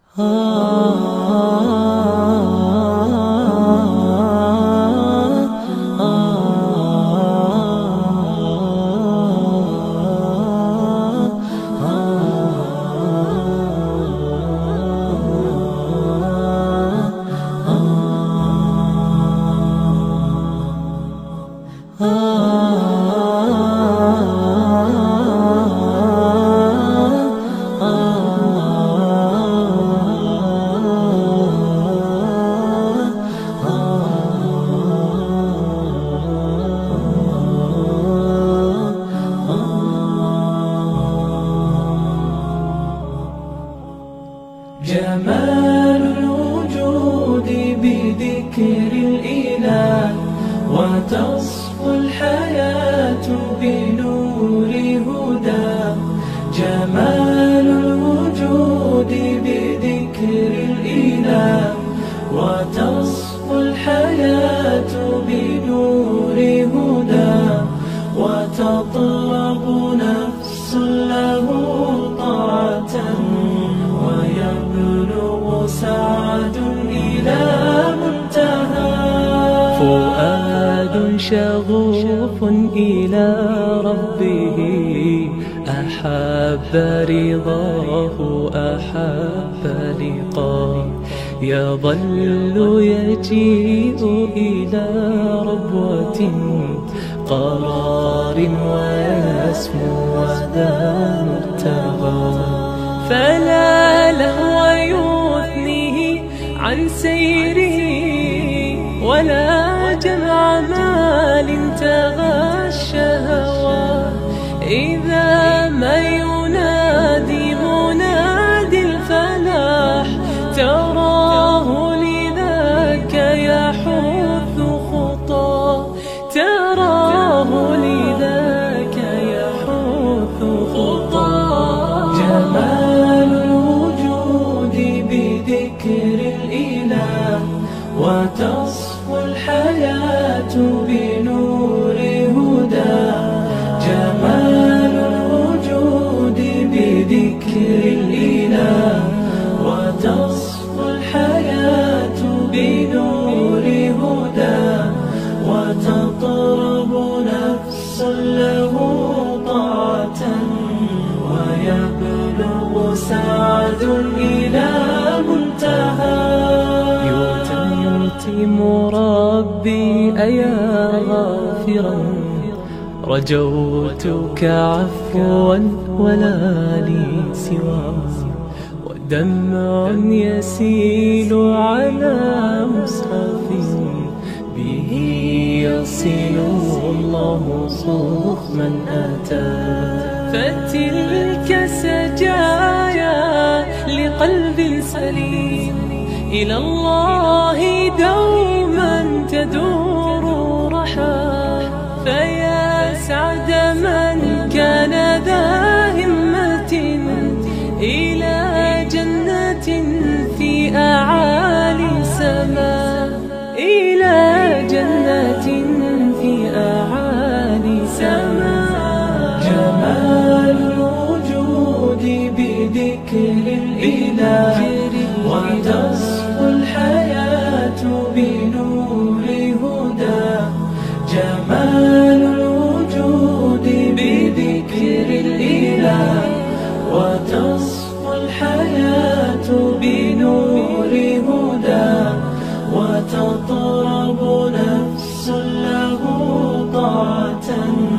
جمال الوجود بذكر الإله، وتصفو الحياة بنور هداه. جمال الوجود بذكر الإله، وتصفو الحياة بنور هداه. وتطلب نفس له طاعة، ويبلغ سعد إلى منتهى. فؤاد شغوف إلى ربه، أحب رضاه أحب لقاه. يظل يجيء إلى ربوة قرار، ويسمو وذا مرتغى. فلا لهو يثنيه عن سيره، ولا جمع مال تغى الشهوى. إذا ما ينادي منادي الفلاح، تراه لذاك يحث خطاه. تراه لذاك يحث خطاه. جمال الوجود بذكر الإله، وتصفو الحياة بنور هداه. جمال الوجود بذكر الإله، وتصفو الحياة بنور هداه. وتطرب نفس له طاعة، ويبلغ سعد إلى منتهى. يتم ربي أيا غافرا، رجوتك عفوا ولا لي سوى. ودمع يسيل على مصحف، به يصل الله صوف من أتى. فتلك سجايا لقلب سليم، إلى الله دوما تدور رحى. فيا سعد من كان ذا همة، إلى جنة في أعالي سماء. إلى جنة في أعالي سماء. جمال الوجود بذكر الإله، وتصفو الحياة بنور هداه. جمال الوجود بذكر الإله، وتصفو الحياة بنور هداه. وتطرب نفس له طاعة،